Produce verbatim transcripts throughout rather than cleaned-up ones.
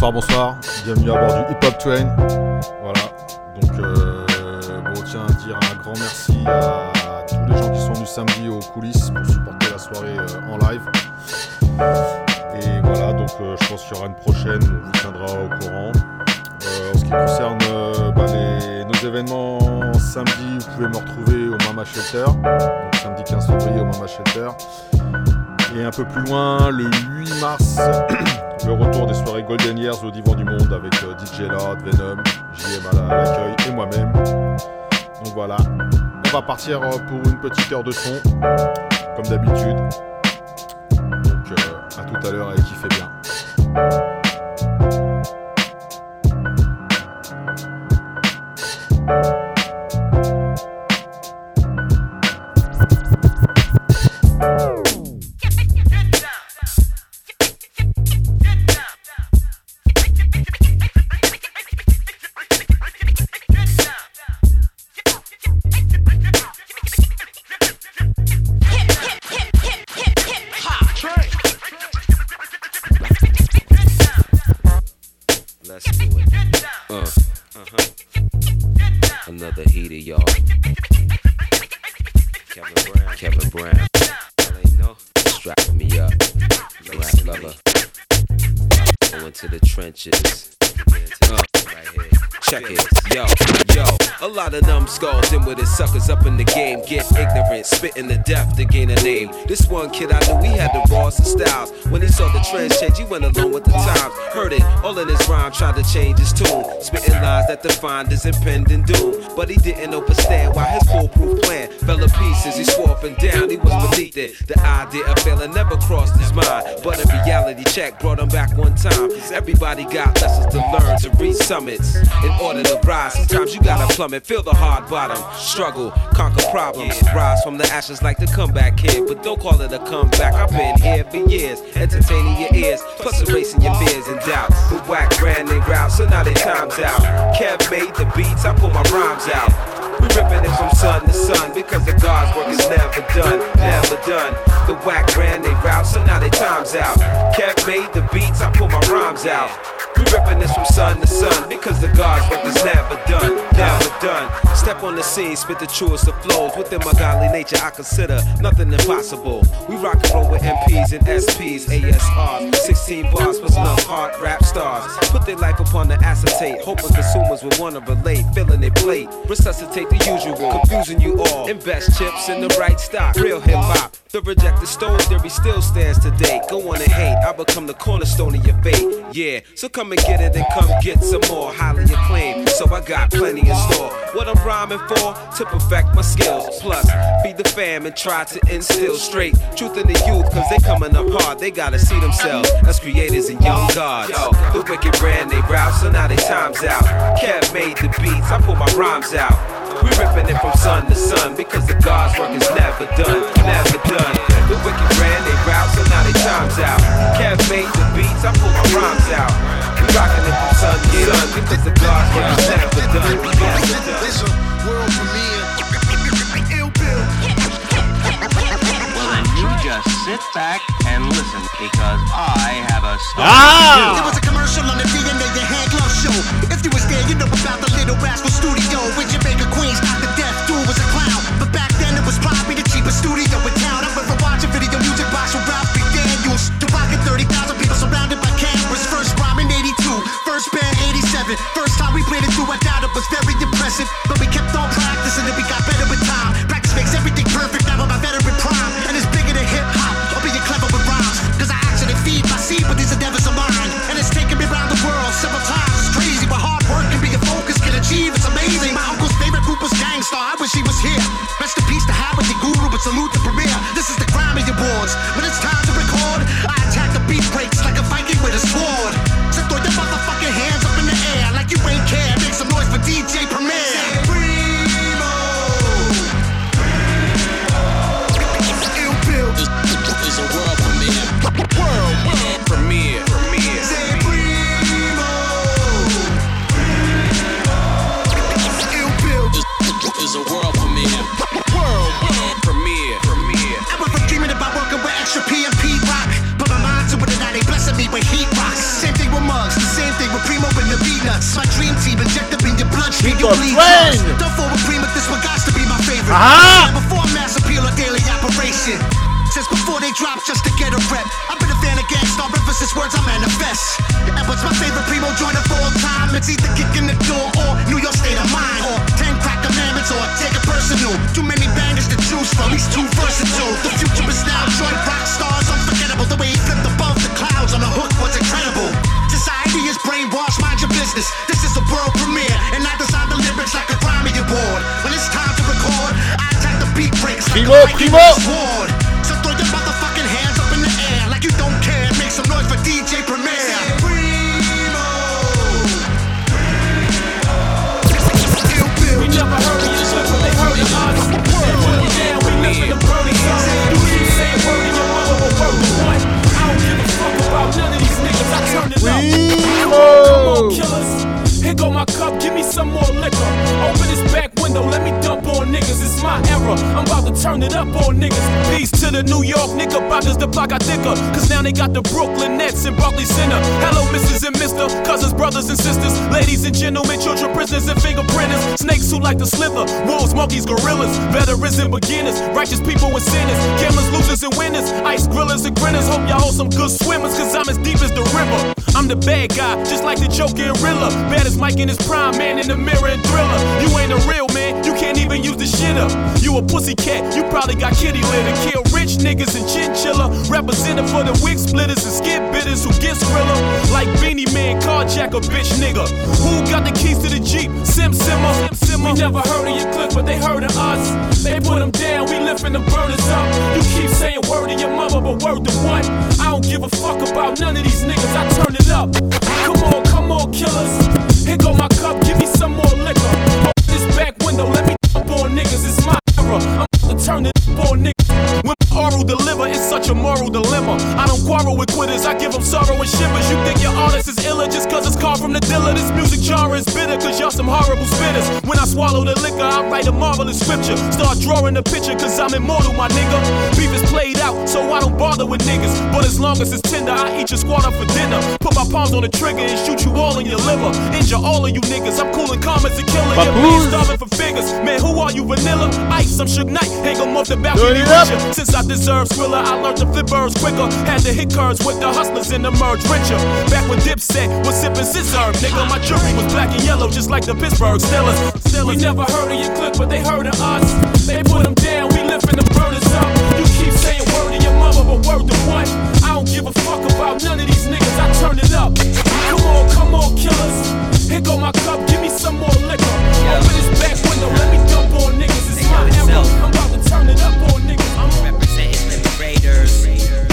Bonsoir, bonsoir, bienvenue à bord du Hip Hop Train. Voilà, donc euh, bon, tiens à dire un grand merci à tous les gens qui sont venus samedi aux coulisses pour supporter la soirée euh, en live. Et voilà, donc euh, je pense qu'il y aura une prochaine, on vous tiendra au courant. Euh, en ce qui concerne euh, bah, les, nos événements samedi, vous pouvez me retrouver au Mama Shelter, donc samedi quinze février au Mama Shelter. Et un peu plus loin, le huit mars, le retour des soirées Golden Years au Divan du Monde avec euh, D J Lord, Venom, J M à l'accueil et moi-même. Donc voilà, on va partir pour une petite heure de son, comme d'habitude. Donc euh, à tout à l'heure et kiffez bien. Skulls in with his suckers up in the game, get ignorant, spitting the death to gain a name. This one kid I knew, he had the rawest of styles. When he saw the trends change, he went along with the times. Heard it all in his rhyme, tried to change his tune, spitting lines that defined his impending doom. But he didn't understand why his foolproof plan fell to pieces. He swore up and down, he was beneath it. The idea of failing never crossed his mind, but a reality check brought him back one time. Everybody got lessons to learn to reach summits in order to rise. Sometimes you gotta plummet, feel the hard bottom, struggle, conquer problems, rise from the ashes like the comeback kid. But don't call it a comeback, I've been here for years, entertaining your ears, plus erasing your fears and doubts. The whack brand they route, so now they time's out. Kev made the beats, I pull my rhymes out. We ripping it from sun to sun, because the God's work is never done, never done. The whack brand they route, so now they time's out. Kev made the beats, I pull my rhymes out. We ripping this from sun to sun, because the God's work is never done, never done. Step on the scene, spit the truest of flows. Within my godly nature, I consider nothing impossible. We rock and roll with M Ps and S Ps, A S Rs, sixteen bars plus enough hard rap stars. Put their life upon the acetate, hoping consumers will wanna relate, filling their plate. Resuscitate the usual, confusing you all. Invest chips in the right stock, real hip hop. The rejected stone theory still stands today. Go on and hate, I become the cornerstone of your fate. Yeah, so come and get it and come get some more. Highly acclaimed, so I got plenty in store. What I'm rhyming for? To perfect my skills. Plus, feed the fam and try to instill straight truth in the youth, cause they coming up hard. They gotta see themselves as creators and young gods. Yo, the wicked brand they route, so now they time's out. Kev made the beats, I pull my rhymes out. We ripping it from sun to sun, because the God's work is never done, never done. The wicked brand they route, so now they time's out. Kev made the beats, I pull my rhymes out. We rocking it from sun to sun, because the God's work is never done, never done. It's a world premiere. Ill Bill. Well then you just sit back and listen, because I have a story. Ah! There was a commercial on the D N A, the hand glove show. If you was there, you know about the Little Rascal Studio in Jamaica, Queens. The death dude was a clown, but back then it was probably the cheapest studio in town. I remember watching video music box from Ralph McDaniels. The rockin' thirty thousand people surrounded by cameras. First rhyme in eighty-two, first band eighty-seven. First time we played it through, I doubt it was very impressive, but we kept on practicing and we got better with time. Practice makes everything perfect. Now I'm a veteran prime, and it's bigger than hip hop. I'll be clever with rhymes, cause I actually feed my seed, but these endeavors are mine, and it's taken me around the world several times. It's crazy, but hard work can be a focus, can achieve. It's amazing. My uncle's favorite group was Gangstar. I wish he was here. Rest in peace to Howard the Guru, but salute the premiere. This is the Grammy Awards. When it's time to record, I attack the beat breaks like a Viking with a sword. So throw your motherfucking hands up in the air like you ain't care. Make some noise for D J Premier. Primo. Ill Bill is a world premiere. World, world premiere. Premiere. Say Primo. Ill Bill is a world premiere. World, world premiere. Premiere. I went from dreaming about working with extra Ah! Before mass appeal, a daily operation. Since before they drop just to get a rep. I've been a fan of Gangstar ever since words I manifest. And what's my favorite primo joint of all time? It's either kicking the door or New York State of Mind. Or ten crack commandments or take it personal. Too many bangers to choose from, he's too versatile. The future is now joint rock stars, unforgettable. The way he flipped above the clouds on a hook was incredible. Society is brainwashed, mind your business. This is a world premiere, and I design the lyrics like a Grammy Award. When it's time to record, I attack the beat breaks like Primo, a Primo. sword. So throw your motherfucking hands up in the air like you don't care. Make some noise for D J Premier. We never heard of you, but they heard of us. They put it down, we live in the burning zone. You keep saying word in your mother, but word to what? I don't give a fuck about none of these niggas. I turn it up. Come on, come on, killers. Here go my cup, give me some more liquor. Open this back window, let me dump on niggas. It's my era, I'm about to turn it up on niggas. Peace to the New York knickerbockers, the block got thicker. Cause now they got the Brooklyn Nets and Barclays Center. Hello, missus and mister, cousins, brothers and sisters, ladies and gentlemen, children, prisoners and fingerprinters. Snakes who like to slither, wolves, monkeys, gorillas, veterans and beginners, righteous people and sinners, gamblers, losers and winners, ice grillers and grinners. Hope y'all hold some good swimmers, cause I'm as deep as the river. I'm the bad guy, just like the Joker and Rilla. Bad as Mike in his prime, man in the mirror and Thriller. You ain't a real man, you can't even use the shit up. You a pussy cat, you probably got kitty litter. Kill rich niggas and chinchilla. Represented for the wig splitters and skid bitters who get skrilla. Like Beanie Man, carjack a bitch nigga. Who got the keys to the Jeep? Sim Simmer. Sim Simmer. We never heard of your clique, but they heard of us. They put them down, we lifting the burners up. You keep saying word to your mother, but word to what? I don't give a fuck about none of these niggas, I turn it up. Come on, come on, killers. Here go my cup, give me some more liquor. Open this back window, let me dump on niggas, it's my era. I'm about to turn it up on niggas. When oral deliver, it's such a moral dilemma. I don't quarrel with quitters, I give them sorrow and shivers. You think your artist is iller just cause it's called from the dealer. This music genre is bitter cause y'all some horrible spitters. When I swallow the liquor, I write a marvelous scripture. Start drawing the picture cause I'm immortal, my nigga. Beef is played out, so I don't bother with niggas. But as long as it's tender, I eat your squad up for dinner. Put my palms on the trigger and shoot you all in your liver. Injure all of you niggas, I'm cool and calm as a killer. Your man starving for figures. Man, who are you, Vanilla? Ice, I'm Suge Knight, hang 'em off the balcony with ya. Since I deserve Skrilla, I learned to flip birds quicker. Had to hit curves with the hustlers and emerge richer. Back when Dipset was sipping scissor, nigga, my jewelry was black and yellow just like the Pittsburgh Steelers. We never heard of your clique, but they heard of us. They put them down, we lifting the burners up. You keep saying word to your mother, but word to what? I don't give a fuck about none of these niggas, I turn it up. Come on, come on, killers. Here go my cup, give me some more liquor. Open this back window, let me dump on niggas. It's my era, I'm about to turn it up on niggas. I'm representing Liberators.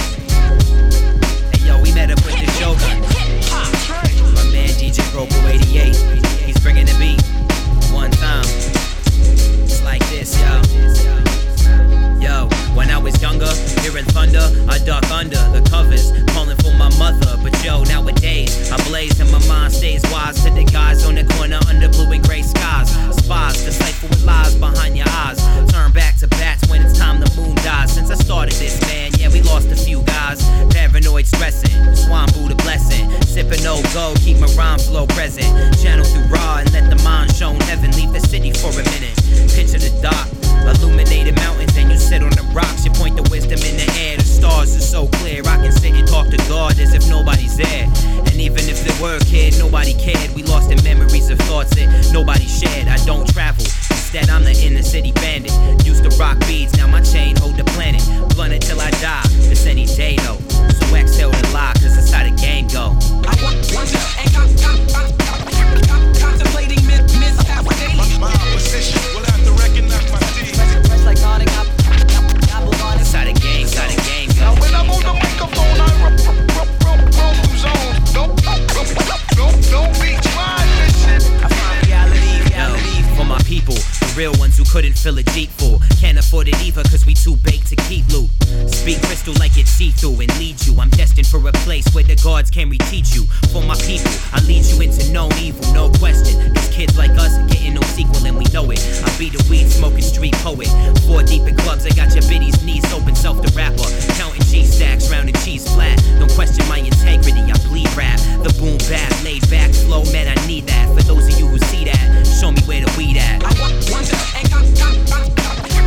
Hey yo, we met up with the Joker. My man D J Pro eighty-eight, he's bringing the beat one time. It's like this, yo. Yo, when I was younger, hearing thunder, I duck under the covers, calling for my mother. But yo, nowadays, I blaze and my mind stays wise to the guys on the corner under blue and gray skies. Spies, decipher with lies behind your eyes. Turn back to bats when it's time the moon dies. Since I started this, man, yeah, we lost a few guys. Paranoid stressing, swine Buddha blessing. Sipping no go, keep my rhyme flow present. Channel through raw and let the mind shown heaven. Leave the city for a minute. Picture the dock, illuminated mountains, and you sit on the rocks. You point the wisdom in the air. The stars are so clear. I can sit and talk to God as if nobody's there. And even if there were a kid, nobody cared. We lost in memories of thoughts that nobody shared. I don't travel. Instead, I'm the inner city bandit. Used to rock beads, now my chain hold the planet. Blunt it till I die. It's any day though. So exhale and lie, cause that's how the game go. I want one and got, got, got, got, contemplating myth, myth, daily. My opposition will have to recognize my deeds. Fresh like on and got, that's how the game, that's how the game go. Now when I'm on the microphone, I roll through zones. Don't, don't, don't, don't be trying this shit. I find reality, reality. Yo, for my people, the real ones who couldn't fill a Jeep full. Can't afford it either cause we too baked to keep loot. Speak crystal like it's see-through and lead you. I'm destined for a place where the gods can reteach you. For my people, I lead you into known evil, no question. These kids like us getting no sequel and we know it. I be the weed smoking street poet. Four deep in clubs, I got your biddies knees open, self the rapper. Counting cheese stacks, round and cheese flat. Don't question my integrity, I bleed rap. The boom bap, laid back, slow, man, I need that. For those of you who see that, show me where the weed at. I want one and got, got, got, got.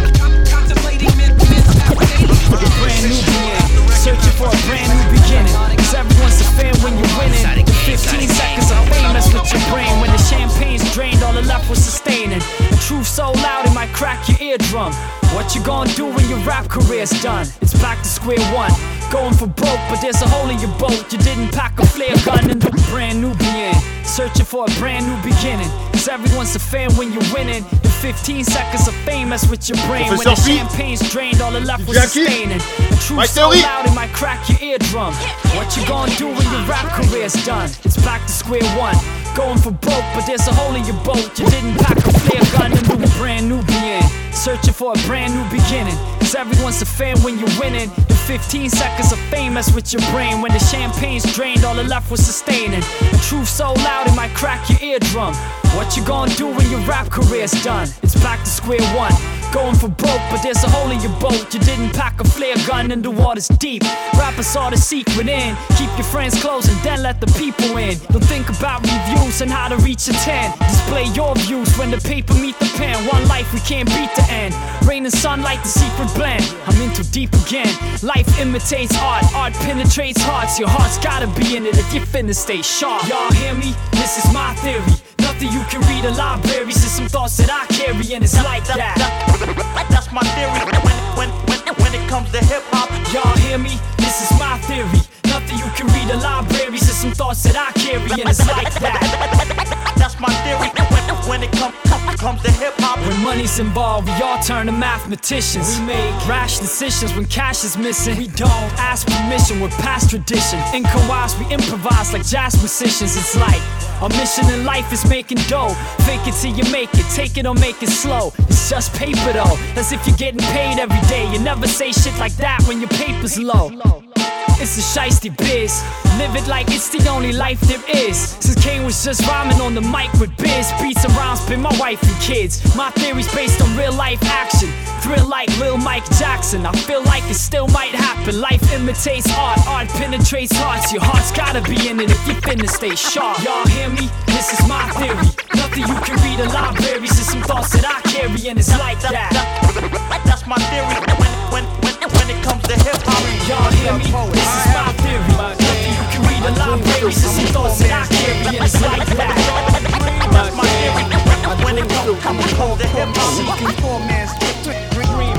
eardrum. What you gonna do when your rap career's done? It's back to square one. Going for broke, but there's a hole in your boat. You didn't pack a flare gun and a brand new begin. Searching for a brand new beginning. Cause everyone's a fan when you're winning. The fifteen seconds of fame mess with your brain. When the champagne's drained, all the left was sustaining. A truth so loud it might crack your eardrum. What you gonna do when your rap career's done? It's back to square one. Going for broke, but there's a hole in your boat. You didn't pack a flare gun and a brand new begin. Searching for a brand new beginning. Cause everyone's a fan when you're winning. The fifteen seconds of fame mess with your brain. When the champagne's drained, all the left was sustaining. The truth so loud it might crack your eardrum. What you gonna do when your rap career's done? It's back to square one. Going for broke, but there's a hole in your boat. You didn't pack a flare gun and the water's deep. Rappers saw the secret in. Keep your friends close and then let the people in. Don't think about reviews and how to reach a ten. Display your views when the paper meet the pen. One life we can't beat the end. Rain and sunlight, the secret blend. I'm in too deep again. Life imitates art, art penetrates hearts. Your heart's gotta be in it if you're finna stay sharp. Y'all hear me? This is my theory. Nothing you can read in libraries. It's some thoughts that I carry and it's like that. That's my theory when, when, when, when it comes to hip-hop. Y'all hear me? This is my theory. Nothing you can read in libraries. It's some thoughts that I carry and it's like that. That's my theory when, when it come, come, comes to hip-hop. When money's involved, we all turn to mathematicians. We make rash decisions when cash is missing. We don't ask permission, we're past tradition. Income-wise, we improvise like jazz musicians. It's like our mission in life is making dough. Fake it till you make it, take it or make it slow. It's just paper though, as if you're getting paid every day. You never say shit like that when your paper's low. It's a shiesty biz. Live it like it's the only life there is. Since Kane was just rhyming on the mic with biz. Beats and rhymes been my wife and kids. My theory's based on real life action. Thrill like Lil Mike Jackson. I feel like it still might happen. Life imitates art, art penetrates hearts. Your heart's gotta be in it if you finna stay sharp. Y'all hear me? This is my theory. Nothing you can read in libraries. It's some thoughts that I carry and it's like that. That's my theory when, when, when, when it comes to hip-hop. Y'all hear me? This is my theory. Nothing you can read in libraries. It's some thoughts that I carry and it's like that. That's my theory when it comes, comes, comes to hip-hop. Seeking poor man's dream,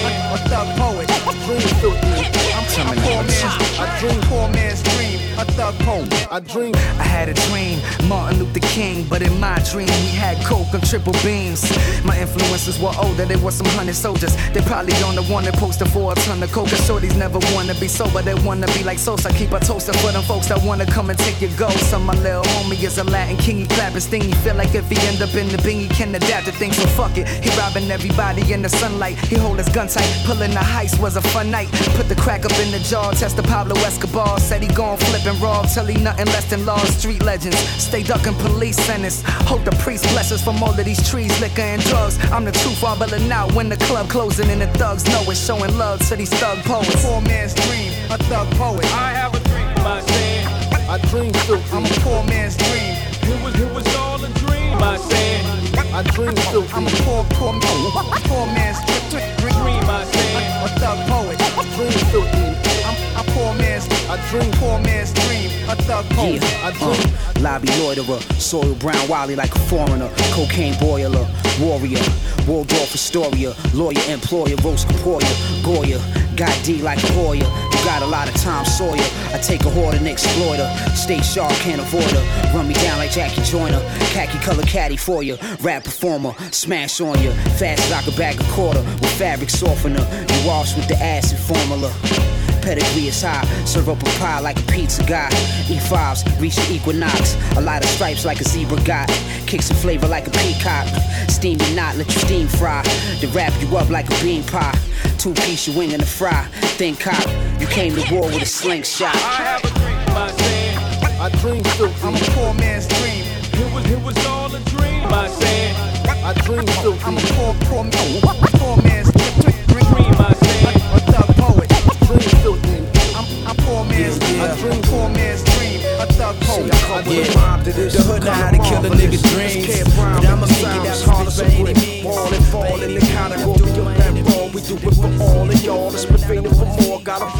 a thug poet. Dream filthy. I'm a poor man's, I dream poor man's dream. A thug poet. I dream. I had a dream, Martin Luther King, but in my dream we had coke and triple beams. My influences were older, they were some hundred soldiers. They probably on the wanted poster for a ton of coke. Shorties never wanna be sober, they wanna be like Sosa. Keep a toaster for them folks that wanna come and take your ghost. Some my little homie is a Latin king, he clapping stingy. Feel like if he end up in the bing, he can adapt to things, so fuck it. He robbing everybody in the sunlight, he hold his gun tight. Pulling the heist was a fun night. Put the crack up in the jar, test the Pablo Escobar. Said he gon' flip and rob till he nothing less than laws. Street legends, stay ducking police sentence. Hope the priest bless us from all of these trees, liquor and drugs. I'm the truth, I'm bailing out when the club closing and the thugs know it's showing love to these thug poets. Poor man's dream, a thug poet. I have a dream, I said. I dream filthy. I'm a poor man's dream. It was, it was all a dream, I said. I dream filthy. I'm a poor, poor, poor, poor man's dream, I said. A thug poet. Dream filthy. I'm a poor man's, I dream poor man's dream. A thug poet. Yeah. I dream. Uh, lobby loiterer, soil brown Wally like a foreigner, cocaine boiler, warrior, Waldorf Astoria, lawyer, employer, roast Caporia, Goya, got D like a Hoya. You got a lot of Tom Sawyer. I take a whore and exploit her. Stay sharp, can't avoid her. Run me down like Jackie Joyner. Khaki color caddy for you. Rap performer, smash on you. Fast as I could bag a quarter with fabric softener. You wash with the acid formula. Pedigree is high, serve up a pie like a pizza guy. E fives, reach the equinox. A lot of stripes like a zebra got. Kick some flavor like a peacock. Steam your knot, let your steam fry. To wrap you up like a bean pie. Two piece, your wing and a fry. Think cop, you came to war with a slingshot. I have a dream, I said. I dream filthy. I'm a poor man's dream. It was, it was all a dream, I said. I dream filthy. I'm a poor, poor, poor man's dream, I said. A thug poet. Dream filthy. I'm a poor man's dream. I dream poor man's dream. A thug poet. Yeah, the hood know how to kill a nigga's dreams, but I'ma make it as hard as any means. All and fall in the category of that wrong. We do it for all of y'all. It's been fading for more. Got a rhyme that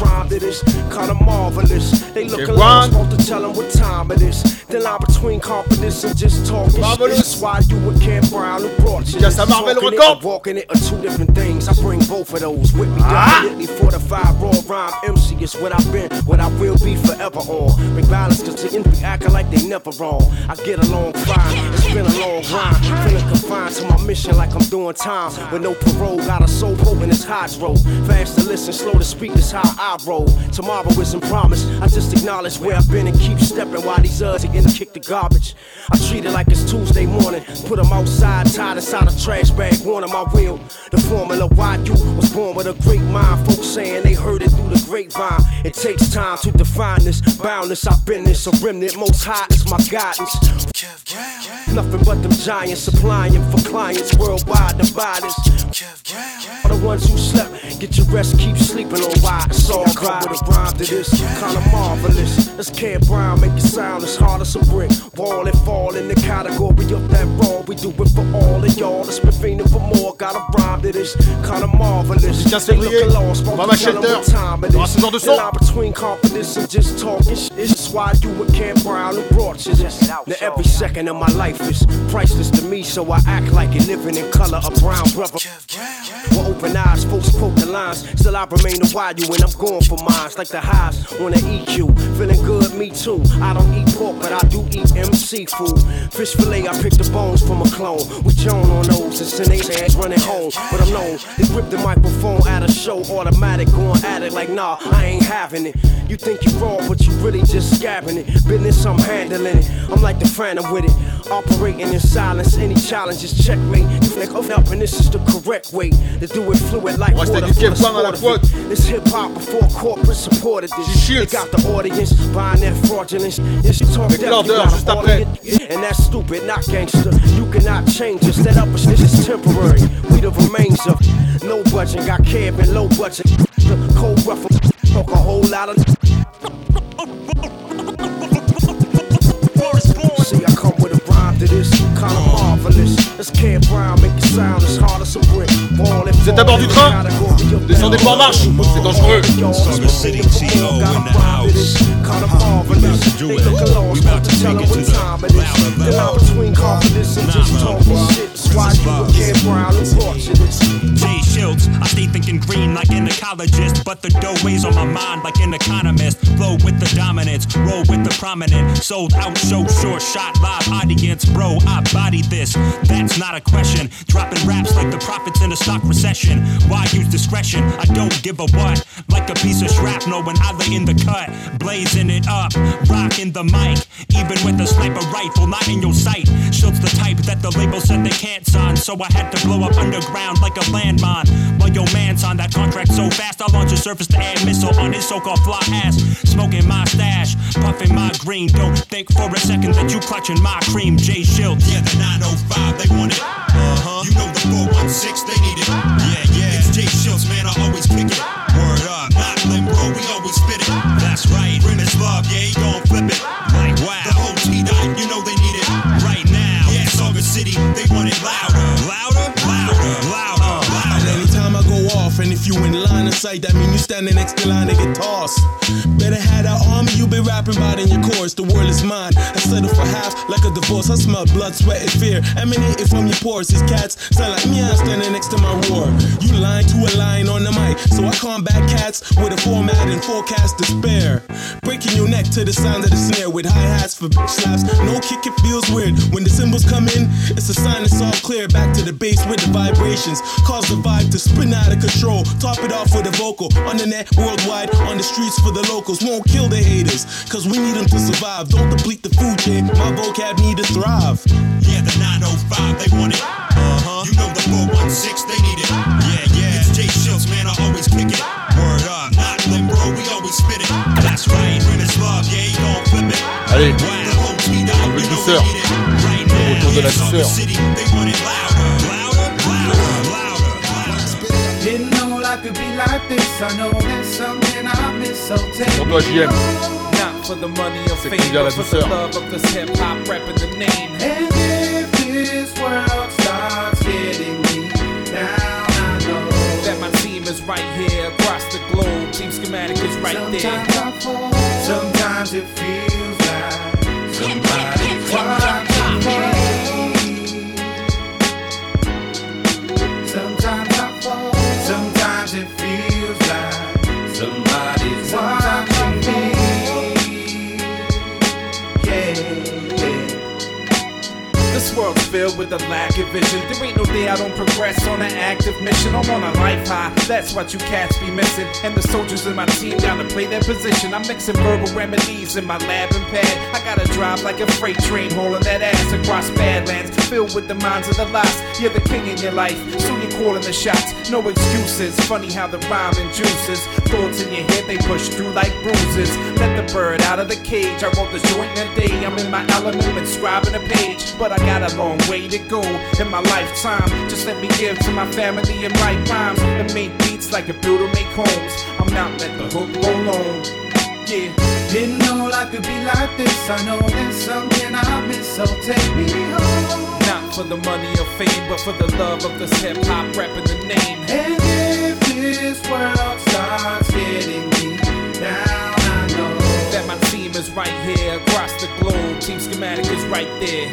this, kinda marvelous. They looking like I'm supposed to tell them what time it is. The line between confidence and just talking shit. That's why you and Cam Brown who brought you this. Talking it and walking it are two different things. I bring both of those with me. Definitely fortified, raw rhyme M C is what I've been, what I will be forever on. Bring balance cause the enemy acting like they never wrong. I get along fine, it's been a long rhyme. Feeling confined to my mission like I'm doing time. With no parole, got a soul potent as hydro. Fast to listen, slow to speak is how I roll. Tomorrow isn't promised, I just acknowledge where I've been and keep stepping while these others again kick the garbage. I treat it like it's Tuesday morning. Put them outside, tied inside a trash bag, one on my wheel. The formula why you was born with a great mind. Folks saying they heard it through the grapevine. It takes time to define this boundless. I've been this, a remnant, most high is my guidance. Nothing but them giants supplying for clients worldwide. The bodies, all the ones who slept, get your rest, keep sleeping on why it's all right. With a rhyme to this, kinda marvelous. Let's Cam Brown make it sound as hard as a brick. Wall and fall in the category of that raw. We do it for all of y'all. Let's be fiending for more. Got a rhyme to this, kinda marvelous. quinze février, Mama Shelter, dans ce genre de son. Between confidence and just talking shit. It's why you and Cam Brown who brought you this. Now every second of my life is priceless to me, so I act like it living in color. A brown brother. With open eyes, folks quote the lines. Still I remain a wild you and I'm going for mines. Like the highs on the E Q. Feeling good, me too. I don't eat pork, but I do eat M C food. Fish fillet, I pick the bones from a clone. We Joan on those and send they ass running home. But I'm known, they grip the microphone at a show. Automatic, going at it like nah, I ain't having it. You think you wrong, but you really just scabbing it. Business, I'm handling it. I'm like the phantom with it. Operating in silence, any challenges, checkmate. You flick up and this is the correct way to do it fluid like water for the sport of it. It's hip-hop before corporate supported this. They got the audience buying their fraudulence. Yes, you talk that, you got an audience. And that's stupid, not gangster. You cannot change us. That up this is temporary. We the remains of no budget. Got cab and low budget. The cold rough talk a whole lot of. See, I come with a rhyme to this, kinda marvelous. Let's Cam Brown make it sound as hard as a brick. Vous êtes à bord du train? Descendez pas en marche, c'est dangereux. Saga City T O in the house. We about to do it. We about to take it to the louder level. Between confidence and just talking shit. Why you and Cam Brown who brought you this? Jay Schultz, I stay thinking green like an ecologist, but the dough weighs on my mind like an economist. Flow with the dominance, roll with the prominent. Sold out, show sure shot, live audience. Bro, I body this, that's not a question. Dropping raps like the prophets in a stock recession. Why use discretion? I don't give a what. Like a piece of shrapnel when I lay in the cut. Blazing it up, rocking the mic. Even with a sniper rifle not in your sight. Schultz the type that the label said they can't sign, so I had to blow up underground like a landmine. While your man's on that contract so fast, I'll launch a surface-to-air missile on his so-called fly ass. Smoking my stash, puffing my green. Don't think for a second that you clutching my cream. Jay Schultz. Yeah, the nine oh five, they want it. Uh-huh. You know the four one six, they need it. Yeah, yeah. It's Jay Schultz, man, I always kick it. Word up, not limbo, we always spit it. That's right, Rim is love, yeah, he gon' flip it. Like, wow. The whole T-Dot, you know they need it. Right now, yeah, Saga City, they want it louder. Louder, louder, louder, louder. And anytime I go off, and if you in line of sight, that mean you standing next to line to get tossed. Better have that army you been rapping about in your chorus. The world is mine. I settle for half like a divorce. I smell blood, sweat, and fear emanating from your pores. These cats sound like me. I'm standing next to my roar. You lying to a line on the mic, so I combat cats with a format and forecast despair. Breaking your neck to the sound of the snare with hi hats for slaps. No kick, it feels weird when the cymbals come in. It's a sign it's all clear. Back to the bass with the vibrations, cause the vibe to spin out of control. Top it off with a vocal on the net, worldwide, on the streets for the locals. Won't kill the haters, cause we need them to survive. Don't deplete the food chain, my vocab need to thrive. Yeah, the nine oh five, they want it. Uh-huh. You know the four one six, they need it. Yeah, yeah. It's Jay Schultz, man, I always kick it. Word up, not limbo, we always spit it. That's right, Rim is love, yeah, he gon' flip it. Allez, wow. The whole T-Dot, un peu de douceur. Right now, Autour de la yeah, douceur. City, they want it louder, louder, louder, louder, louder. Didn't know life could be like this. I know there's something I miss, so take Pour toi, J M. Not for the money or C'est fame, qu'il y a la but for the douceur. love of this hip-hop rapping the name. And if this world starts getting me down, I know that my team is right here across the globe. Team schematic is right Sometimes there. I fall. Sometimes it feels like somebody's watching me. Sometimes I fall. Sometimes it feels like somebody's watching me. Yeah, yeah. This world's filled with a lack of vision. There ain't no day I don't progress on an active mission. I'm on a life high, that's what you cats be missing. And the soldiers in my team gotta play their position. I'm mixing verbal remedies in my lab and pad. I gotta drive like a freight train, hauling that ass across badlands, filled with the minds of the lost. You're the king in your life, so you're calling the shots. No excuses, funny how the rhyme induces thoughts in your head, they push through like bruises. Let the bird out of the cage. I wrote this joint in a day. I'm in my element, inscribing a page, but I got a long way to go in my lifetime. Just let me give to my family and write rhymes and make beats like a builder make homes. I'm not let the hook roll on. Yeah. Didn't know life could be like this. I know there's something I miss, so take me home. Not for the money or fame, but for the love of this hip hop rapping the name. And if this world starts getting me down, I know that my team is right here across the globe. Team schematic is right there.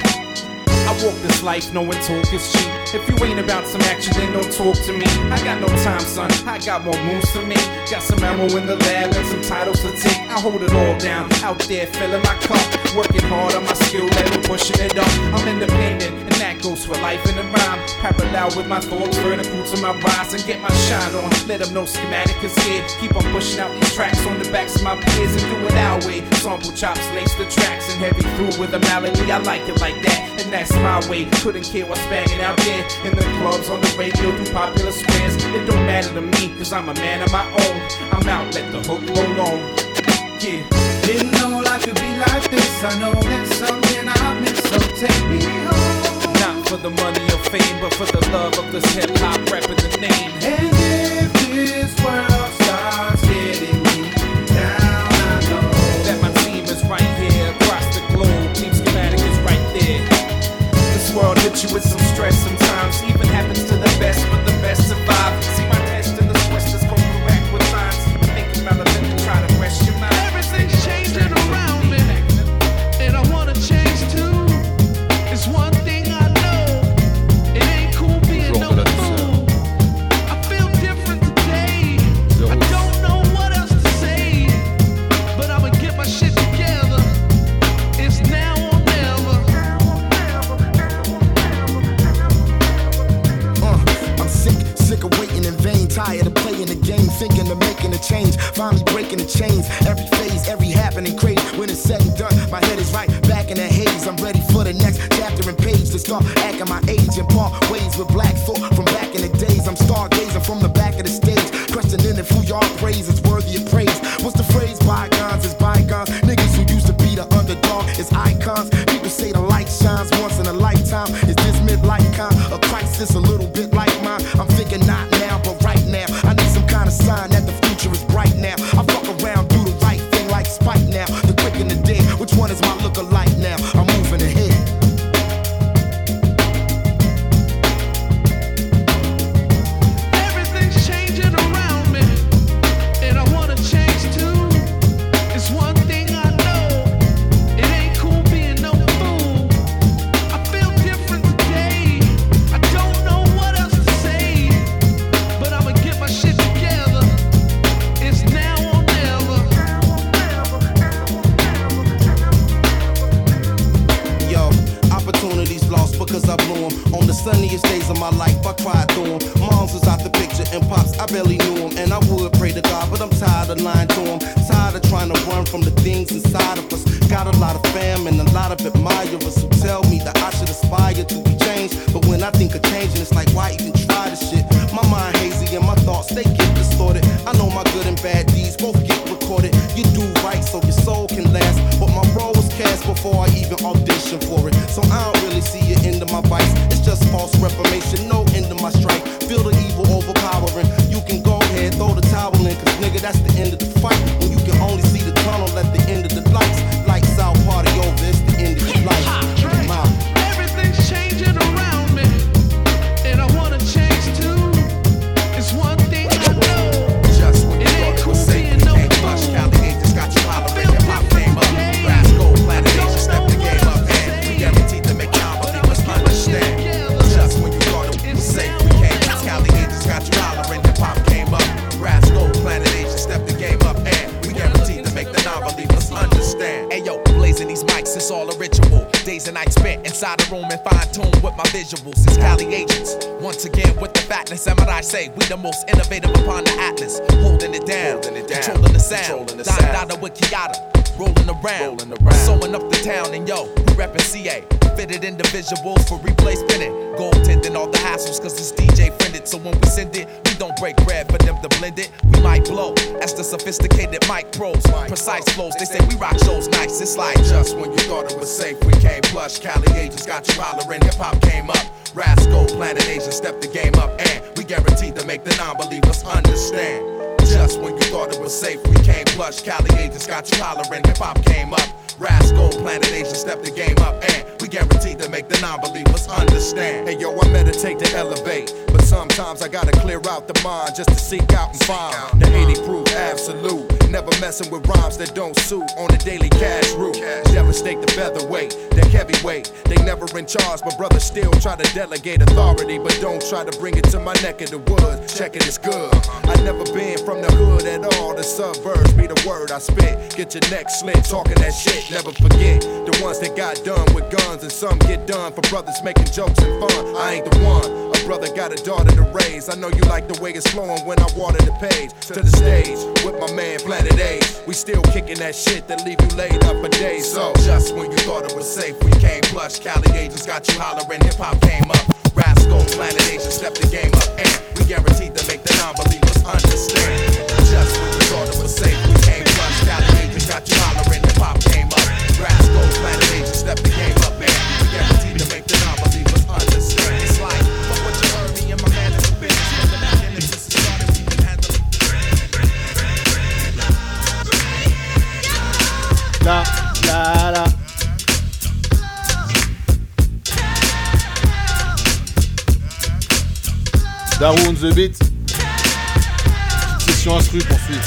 I walk this life knowing talk is cheap. If you ain't about some action, then don't talk to me. I got no time, son, I got more moves to me. Got some ammo in the lab and some titles to take. I hold it all down, out there filling my cup. Working hard on my skill level, pushing it up. I'm independent, and that goes for life in the rhyme. Parallel with my thoughts, vertical to my rise and get my shine on. Let them know schematic is here. Keep on pushing out these tracks on the backs of my peers and do it our way. Sample chops, lace the tracks and heavy through with a melody. I like it like that, and that's my way. Couldn't care what's banging out there in the clubs, on the radio, through popular squares. It don't matter to me, cause I'm a man of my own. I'm out, let the hook roll on. Yeah. Didn't know life could be like this. I know there's something I miss, so take me home. Not for the money or fame, but for the love of this hip hop rapping the name. And if this world starts getting me down, I know that my team is right here across the globe. Team schematic is right there. This world hits you with some stress sometimes. Even happens to the best, but the best survive. See my test in the twist is come correct with times. Make it relevant and try to rest your mind. everything's changing around me, and I wanna change too. It's one thing I know, it ain't cool being no fool. I feel different today. I don't know what else to say, but I'ma get my shit together. It's now or never. Uh, I'm sick, sick of waiting in vain. Tired of playing the game, thinking of making a change. Finally breaking the chains. Every phase, every happening crazy. When it's said and done, my head is right back in the haze. I'm ready for the next chapter and page to start acting my age and part ways with black thought from back in the days. I'm stargazing from the back of the stage, questioning if who y'all praise is worthy of praise. What's the phrase? Bygones is bygones. Niggas who used to be the underdog is icons. People say the light shines once in a lifetime. Is this midlife kind of crisis a little bit like mine? I'm thinking not now, but right now. I need some kind of sign that the future is bright now. I fuck around, do the right thing like Spike now. The quick and the dead, which one is my look-alike now? I'm moving ahead. Everything's changing around me, and I wanna change too. It's one thing I know, it ain't cool being no fool. I feel different today. I don't know what else to say, but I'ma get my shit together. It's now or never. Yo, opportunities lost because I blew 'em. On the sunniest days of my life, I cried through 'em. Moms was out the picture and pops, I barely knew 'em. And I would pray to God, but I'm tired of lying to 'em. Tired of trying to run from the things inside of us. Got a lot of fam and a lot of admirers who tell me that I should aspire to be changed. But when I think of changing, it's like, why even try this shit? My mind hazy and my thoughts, they get distorted. I know my good and bad deeds both get recorded. You do right so your soul can last, but my role was cast before I even auditioned for it. So I don't really see it into my vice. It's just false reformation, no end to my strike. Feel the evil overpowering. You can go ahead, throw the towel in, cause nigga, that's the end of the fight. When you can only see the tunnel at the end of the lights. Lights out, party over, it's the end of your life. I'm out. Everything's changing around me, and I wanna change too. It's one thing I know, Just when it you ain't thought it cool was safe, being inside the room and fine tune with my visuals. It's Cali agents. Once again with the fatness, and what I say, we the most innovative upon the atlas. Holding it down, Holding it down. controlling the sound. Controlling the Don sound. Dada with Kiata, rolling around, rolling around. Sewing up the town, and yo, we reppin' C A. Fitted individuals for replay spinning. Gold tinted all the hassles, cause it's D J friended. So when we send it, we don't break bread for them to blend it. We might blow as the sophisticated mic pros. Precise flows, they say we rock shows nice. It's like just when you thought it was safe, we came plush. Cali agents got you hollering, hip hop came up. Rascal, Planet Asia stepped the game up, and we guaranteed to make the non-believers understand. Just when you thought it was safe, we came plush. Cali agents got you hollering, hip hop came up. Rascal, Planet Asia stepped the game up, and we guaranteed to make the non-believers understand. Hey yo, I meditate to elevate, but sometimes I gotta clear out the mind just to seek out and find the eighty proof absolute. Never messing with rhymes that don't suit on a daily cash route. Devastate the featherweight, the heavyweight. They never in charge, but brothers still try to delegate authority, but don't try to bring it to my neck of the woods. Check it, it's good. I never been from the hood at all. The suburbs be the word I spit. Get your neck slit, talking that shit. Never forget the ones that got done with guns, and some get done for brothers making jokes and fun. I ain't the one. A brother got a daughter to raise. I know you like the way it's flowing when I water the page. To the stage with my man Planet A. We still kicking that shit that leave you laid up for days. So just when you thought it was safe, we came plush. Cali agents got you hollering, hip hop came up. Rascal, Planet Asia stepped the game up, and we guaranteed to make the non-believers understand. Just when you thought it was safe, we came plush. Cali agents got you hollering, hip hop came up. Rascal, Planet Asia stepped the game up, and we guaranteed to make the non-believers understand. It's like, fuck what you heard me and my man in the business. From the beginning since it started, we been handling. La, la, la. Darou on the beat. Petite session instru pour suivre.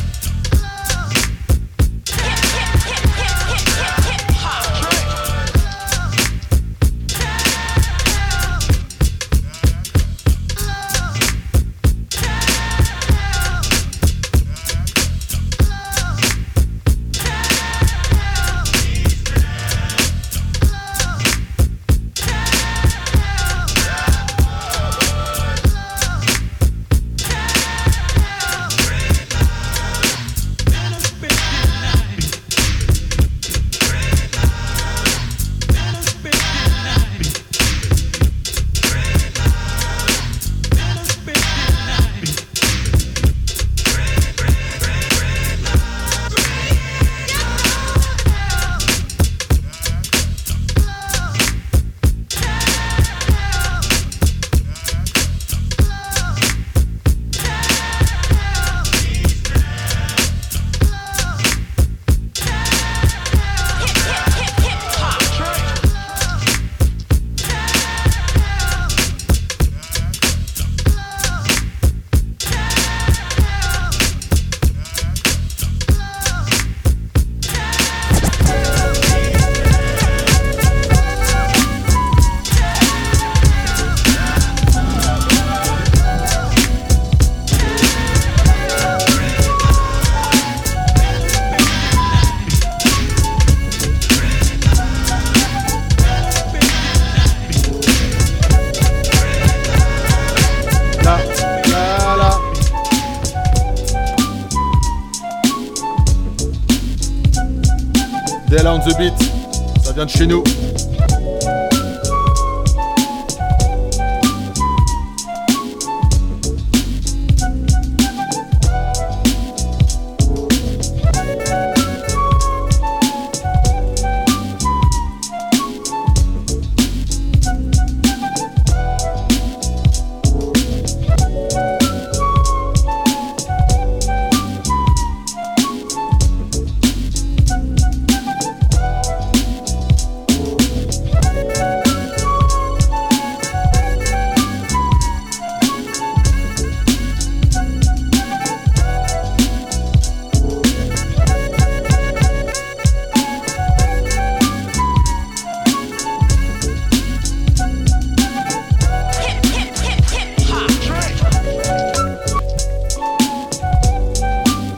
Della on the beat, ça vient de chez nous.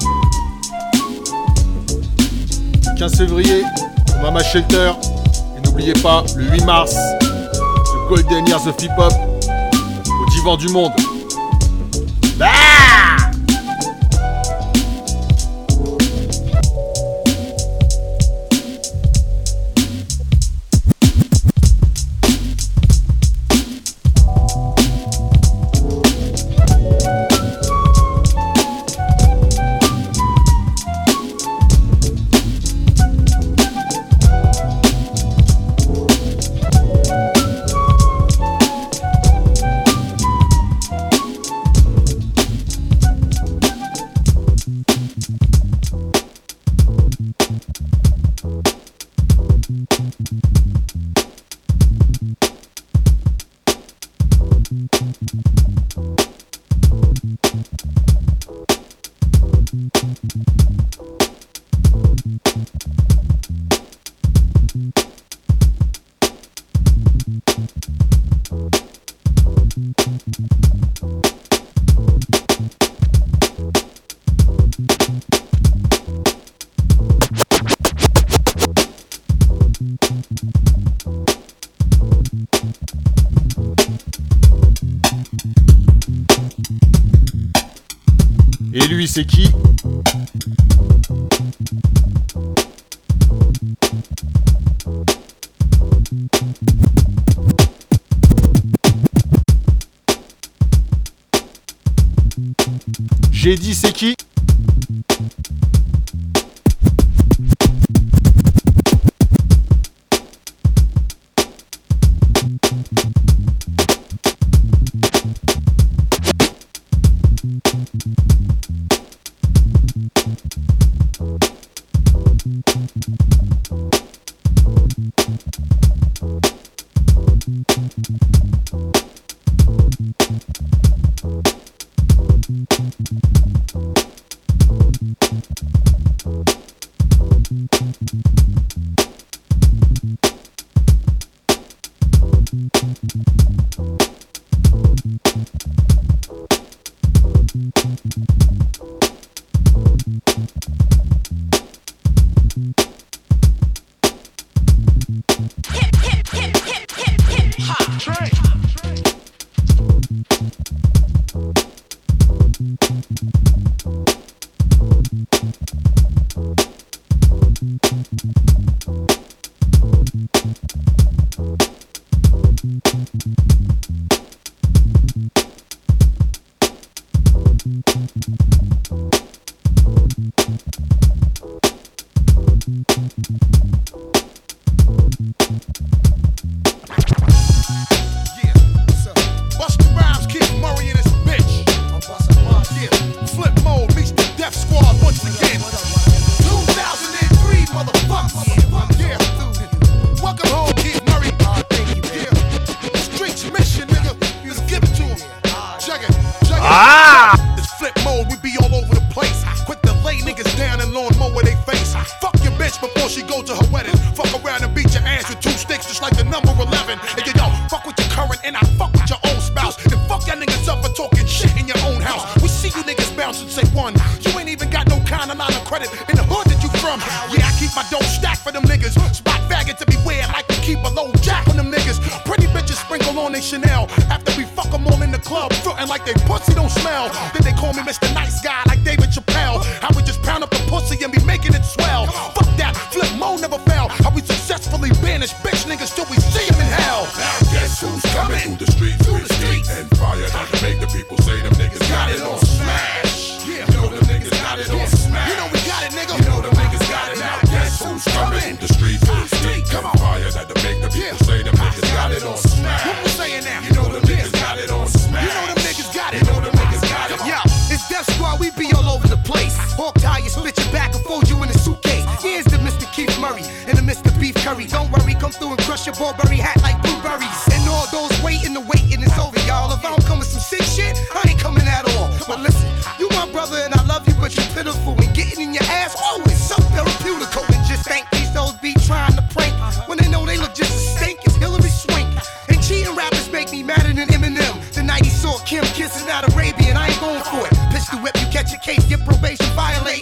quinze février, au Mama Shelter, et n'oubliez pas, le huit mars, le Golden Years of Hip Hop au Divan du Monde. Ah! Et lui, c'est qui? J'ai dit c'est qui?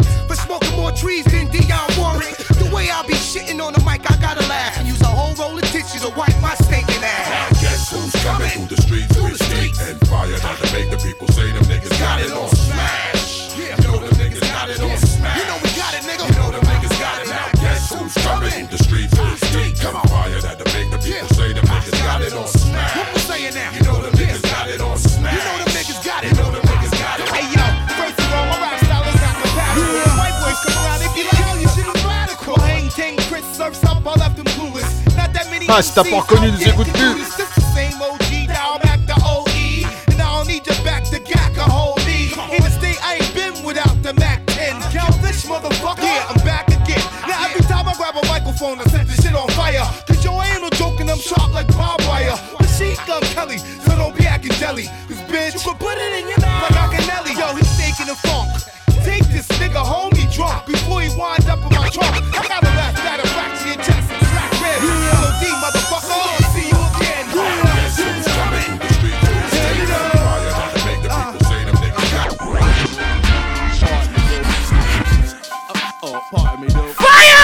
Trees than Dionne Warwick. The way I be shitting on the mic, I gotta laugh and use a whole roll of Ah, si t'as pas reconnu, nous écoute plus. I set this shit on fire. Cause yo, I ain't no joking, I'm sharp like barbed wire. Machine gun Kelly, so don't be acting jelly. Cause bitch, you can put it in your mouth like Machiavelli. Yo, he's taking the funk. Take this nigga home, he drunk. Before he winds up in my trunk, I got a last satisfaction in chest and crack ribs. L O D, motherfucker, I'll see you again. Guess who's coming? The streets will stay on fire. To make the people say them niggas got Oh, pardon me, though. Fire!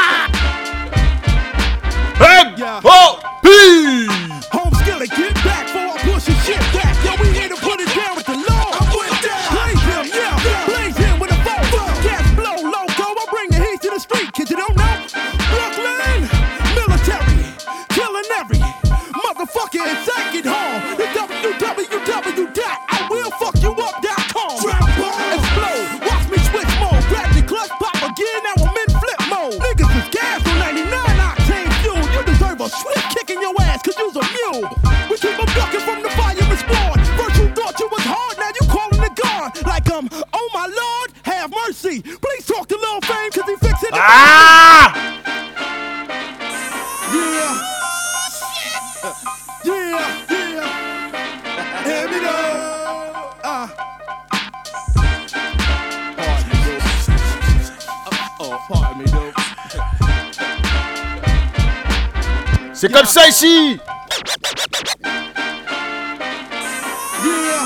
Oh, P! Home skillet, get back before I push your shit back. Yo, we here to put it down with the law. I'm with that. Blaze him, yeah. Blaze him with a bow. Gas blow, loco. I bring the heat to the street. Kids, you don't know? Brooklyn, military, killing every motherfucker in second home. The W W W dot I will fuck you up dot com. Explode, watch me switch mode. Grab the clutch, pop again. Now I'm in flip mode. Niggas is gas on ninety-nine octane fuel. You deserve a swift kick in your ass, cause you's a mule. We keep them ducking from the fire and spawn. First you thought you was hard, now you calling the guard. Like um, oh my lord, have mercy. Please talk to Lil Fame, cause he fixing it. Ah! Yeah. Yeah, yeah. Hear me now. Uh. Oh, pardon me, though. C'est comme ça ici. Yeah.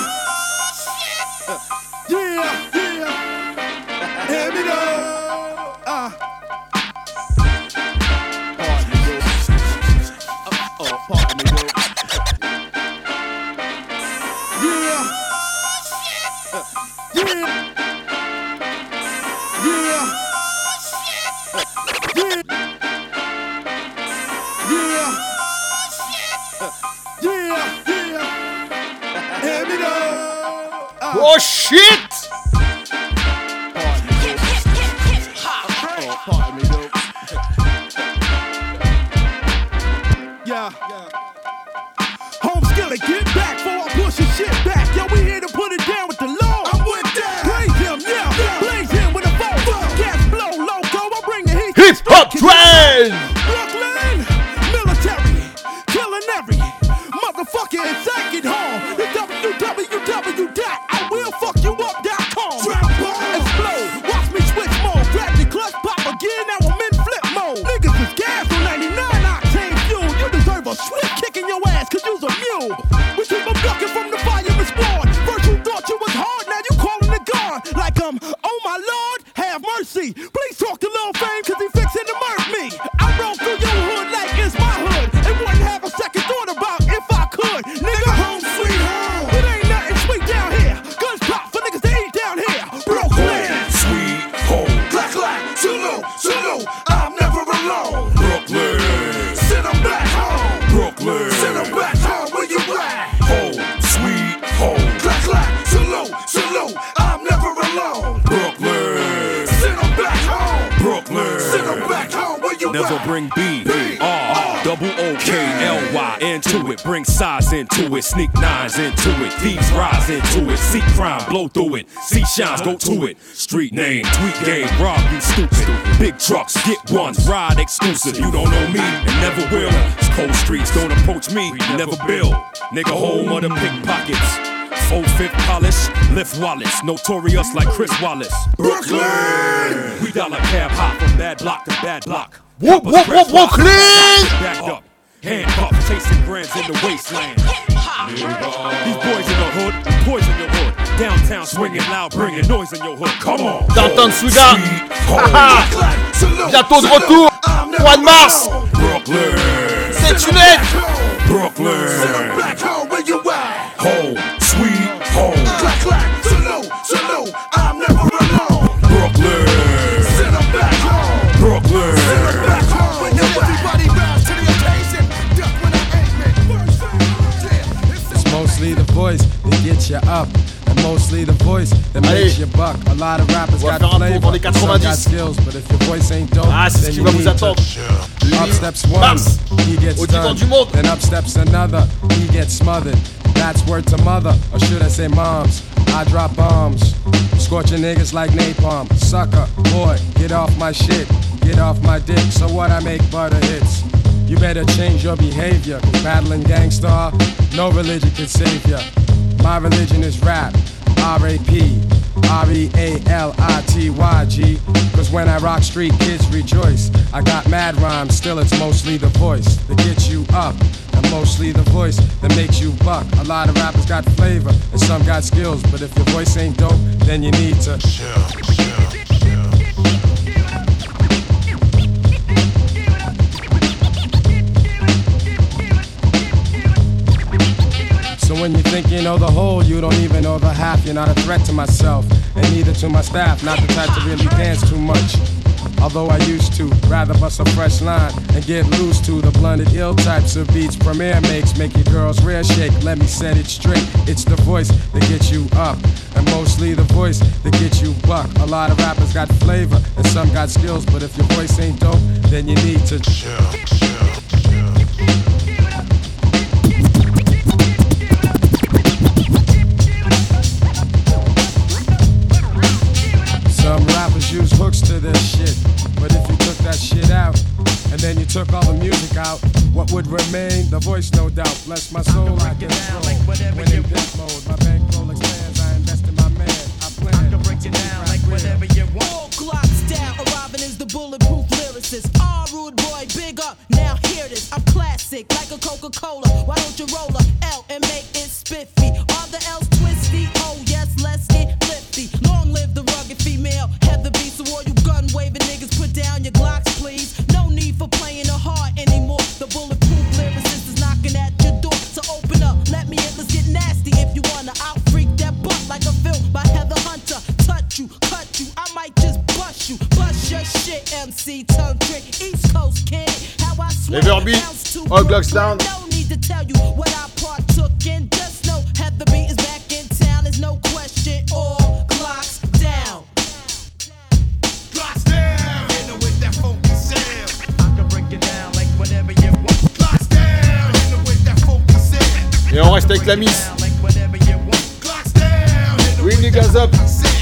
Yeah, yeah. Hear me now. Uh. Oh, pardon me, though. Yeah. Yeah. Yeah. Yeah. Yeah, yeah. Hear me now. Uh. Oh shit! Oh, pardon me, though. Yeah. Home skillet, get back before I push your shit back. Yo, we here to put it down with the law. I'm with that. Blaze him, yeah. Blaze him with a bow. Gas blow, loco. I bring the heat. Hip hop train! Brooklyn, military, killing every motherfucker in second home. The W W W dot I will fuck you up dot com. Explode, watch me switch mode. Grab the clutch, pop again. Now I'm in flip mode. Niggas is gas on ninety-nine octane fuel. You deserve a swift kick in your ass, cause you's a mule. We keep them ducking from the fire and spawn. First you thought you was hard, now you calling the guard. Like um, oh my lord, have mercy. Please talk to Lil Fame, cause he fixing to murk me. I roll through your hood like it's my hood. And wouldn't have a second thought about if I could. Nigga, home sweet home. It ain't nothing sweet down here. Guns pop for niggas to eat down here. Brooklyn, sweet home. Clack, clack, salute, salute. I'm never alone. Brooklyn, send them back home. Brooklyn, send them back home. Where you at? Home, sweet home. Clack, clack, salute, salute. I'm never alone. Brooklyn, send them back home. Brooklyn, send them back home. Where you Never at? bring B, R, double O K, L Y into it. Bring size into it, sneak nines into it. Thieves rise into it, see crime, blow through it. See shines, go to it. Street name, tweet game, rob you stupid. Big trucks, get ones, ride exclusive. You don't know me and never will. It's cold streets, don't approach me, never build. Nigga, home of the pickpockets. Full fifth polish, lift wallets, notorious like Chris Wallace. Brooklyn! We dollar cab hop from bad block to bad block. Whoop, whoop, whoop, Brooklyn! Backed up, handcuffed, chasing grands in the wasteland. These boys in the hood, poison your hood. Downtown swinging loud, bringing noise in your hood. Come on! Downtown Souda! Haha! Bientôt de retour! Mois de mars! Brooklyn! C'est une lettre! Brooklyn! Send them back home. Where you at? Home, sweet home. Clack, clack, salute, salute. I'm never alone. Brooklyn! Send them back home. Brooklyn! Send them back home. When you everybody bounce to the occasion. Duck when I aim it. It's mostly the voice that gets you up, and mostly mostly the voice that makes you buck. A lot of rappers got flavor, some got skills, but if your voice ain't dope, ah, c'est ce qui va vous attendre. Up steps one, he gets done. Then up steps another, he gets smothered. That's word to mother, or should I say moms. I drop bombs, scorching niggas like napalm. Sucker, boy, get off my shit, get off my dick. So what, I make butter hits. You better change your behavior, cause battling gangsta, no religion can save ya. My religion is rap, R A P, R E A L I T Y G. Cause when I rock, street kids rejoice. I got mad rhymes, still it's mostly the voice that gets you up, and mostly the voice that makes you buck. A lot of rappers got flavor, and some got skills, but if your voice ain't dope, then you need to chill, chill. So when you think you know the whole, you don't even know the half. You're not a threat to myself, and neither to my staff. Not the type to really dance too much, although I used to. Rather bust a fresh line and get loose to the blunted ill types of beats Premier makes. Make your girls rear shake, let me set it straight. It's the voice that gets you up, and mostly the voice that gets you buck. A lot of rappers got flavor, and some got skills, but if your voice ain't dope, then you need to chill, chill. Some rappers use hooks to this shit, but if you took that shit out, and then you took all the music out, what would remain? The voice, no doubt. Bless my soul, I get it like when in death mode, my bankroll expands, I invest in my man, I plan. I can break it down like whatever you want. All clocks down, arriving is the bulletproof lyricist. Ah, rude boy, big up, now hear this. I'm classic, like a Coca-Cola. Why don't you roll a L and make it spiffy? Are the L's twisty? Oh yes, let's get lifty. Long live the rugged female, Heather B. So all you gun waving niggas, put down your Glocks, please. No need for playing the heart anymore. The bulletproof lyricist is knocking at your door. So open up, let me in, let's get nasty. If you wanna out freak that butt like a film by Heather Hunter. Touch you, cut you, I might just bust you. Bust your shit, M C tongue trick, East Coast kid. How I swear bounce to all Glocks down. No need to tell you what I partook in. Just know Heather B is back in town, there's no question. All Glocks down. Glocks down. Hit her with that funky sound. I can break it down like whatever you want. Glocks down. Hit her with that funky sound. Et on reste avec la miss. Oui, les gars up.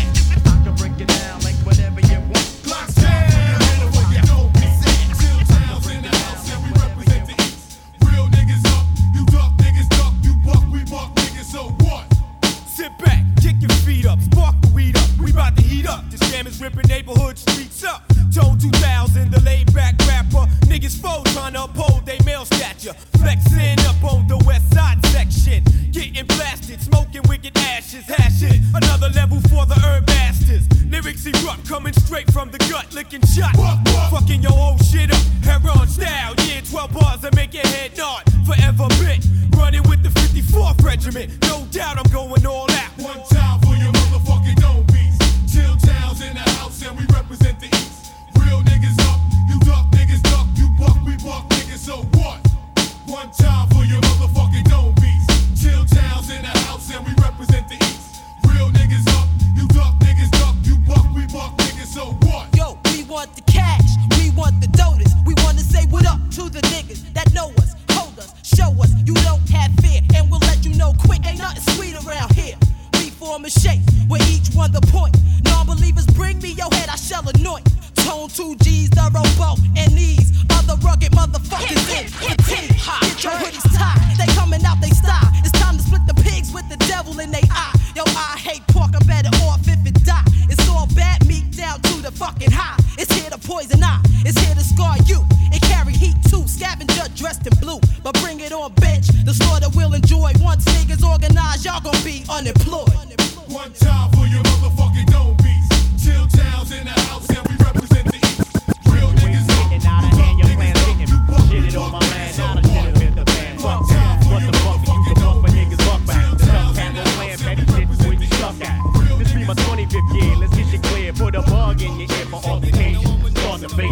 Ripping neighborhood streets up. Tone two thousand, the laid back rapper. Niggas foes trying to uphold they male stature. Flexing up on the west side section. Getting blasted, smoking wicked ashes. Hash it, another level for the herb masters. Lyrics erupt, coming straight from the gut, licking shot. Fucking your whole shit up, Heron style. Yeah, twelve bars that make your head nod. Forever bit, running with the fifty-fourth regiment. No doubt I'm going all out. One time for your motherfucking own beats. Chill towns in the house and we represent the east. Real niggas up, you duck, niggas duck, you buck, we buck, niggas, so what? One time for your motherfucking own beats. Chill towns in the house and we represent the east. Real niggas up, you duck, niggas duck, you buck, we buck, niggas, so what? Yo, we want the cash, we want the donuts. We want to say what up to the niggas that know us, hold us, show us you don't have fear, and we'll let you know quick. Ain't nothing sweet around here. Form a shape where each one the point. Non-believers bring me your head, I shall anoint. Tone two G's, the rowboat, and these other rugged motherfuckers in the team. Get your hoodies tied, they coming out they style. It's time to split the pigs with the devil in they eye. Yo, I hate pork, I'm better off if it die. It's all bad meat down to the fucking high. It's here to poison eye, it's here to scar you. It carry heat too, scavenger dressed in blue. But bring it on bench, the slaughter will enjoy. Once niggas organize, y'all gon' be unemployed. One time for your motherfucking own beats. Chill towns in the house and we represent the east. Real niggas up, you duck, niggas duck, you buck, we buck, niggas, so what? One time for your motherfucking own beats. Chill towns in the house and we represent the east. This be my twenty-fifth year, let's get you clear. Put a bug in your ear for altercation. Start the basis.